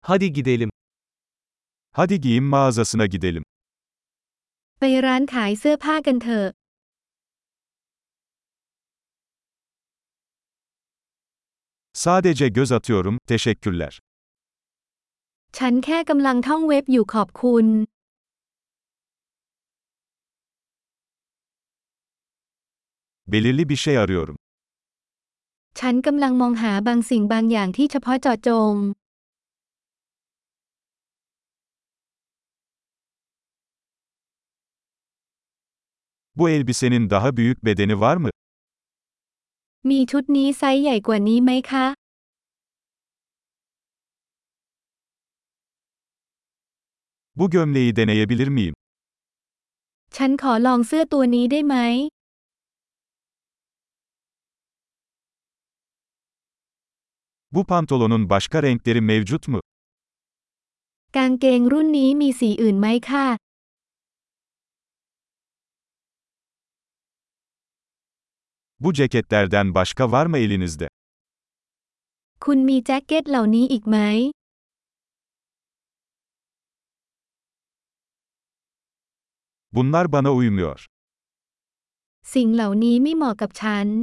Hadi gidelim. Hadi giyim mağazasına gidelim. ไปร้านขายเสื้อผ้ากันเถอะ Sadece göz atıyorum, teşekkürler. ฉันแค่กำลังท่องเว็บอยู่ขอบคุณ Belirli bir şey arıyorum. ฉันกำลังมองหาบางสิ่งบางอย่างที่เฉพาะเจาะจง Bu elbisenin daha büyük bedeni var mı? มีชุดนี้ไซส์ใหญ่กว่านี้ไหมคะ Bu gömleği deneyebilir miyim? ฉันขอลองเสื้อตัวนี้ได้ไหม Bu pantolonun başka renkleri mevcut mu? กางเกงรุ่นนี้มีสีอื่นไหมคะ Bu ceketlerden başka var mı elinizde? คุณมีแจ็คเก็ตเหล่านี้อีกไหม Bunlar bana uymuyor. สิ่งเหล่านี้ไม่เหมาะกับฉัน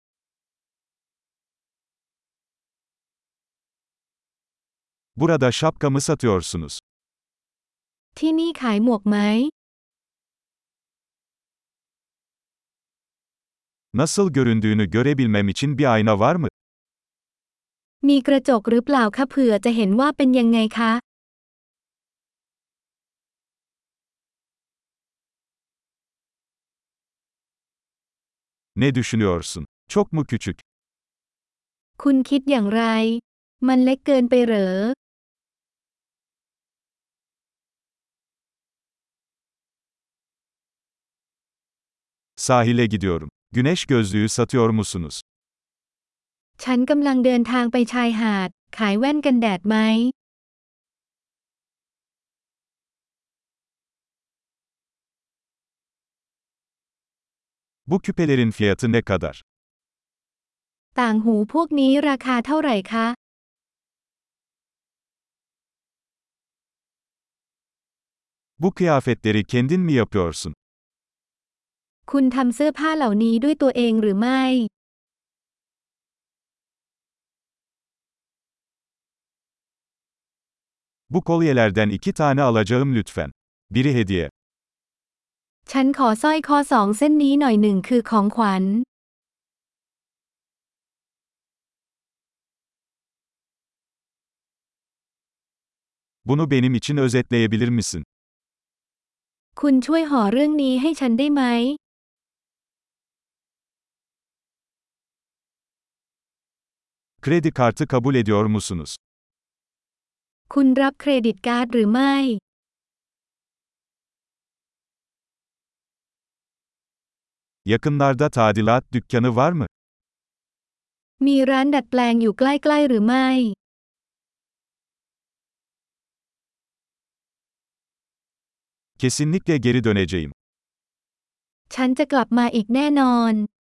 Burada şapka mı satıyorsunuz? ที่นี่ขายหมวกไหม Nasıl göründüğünü görebilmem için bir ayna var mı? มีกระจกหรือเปล่าคะเผื่อจะเห็นว่าเป็นยังไงคะ Ne düşünüyorsun? Çok mu küçük? คุณคิดอย่างไร มันเล็กเกินไปเหรอ Sahile gidiyorum. Güneş gözlüğü satıyor musunuz? ฉันกำลังเดินทางไปชายหาด ขายแว่นกันแดดไหม Bu küpelerin fiyatı ne kadar? ต่างหูพวกนี้ราคาเท่าไหร่คะ Bu kıyafetleri kendin mi yapıyorsun? คุณทำเสื้อผ้าเหล่านี้ด้วยตัวเองหรือไม่ Bu kolyelerden 2 tane alacağım lütfen. Biri hediye. ฉันขอสร้อยคอสองเส้นนี้หน่อยหนึ่งคือของขวัญ Bunu benim için özetleyebilir misin? คุณช่วยห่อเรื่องนี้ให้ฉันได้ไหม Kredi kartı kabul ediyor musunuz? คุณรับเครดิตการ์ดหรือไม่ Yakınlarda tadilat dükkanı var mı? มีร้านดัดแปลงอยู่ใกล้ๆหรือไม่ Kesinlikle geri döneceğim. ฉันจะกลับมาอีกแน่นอน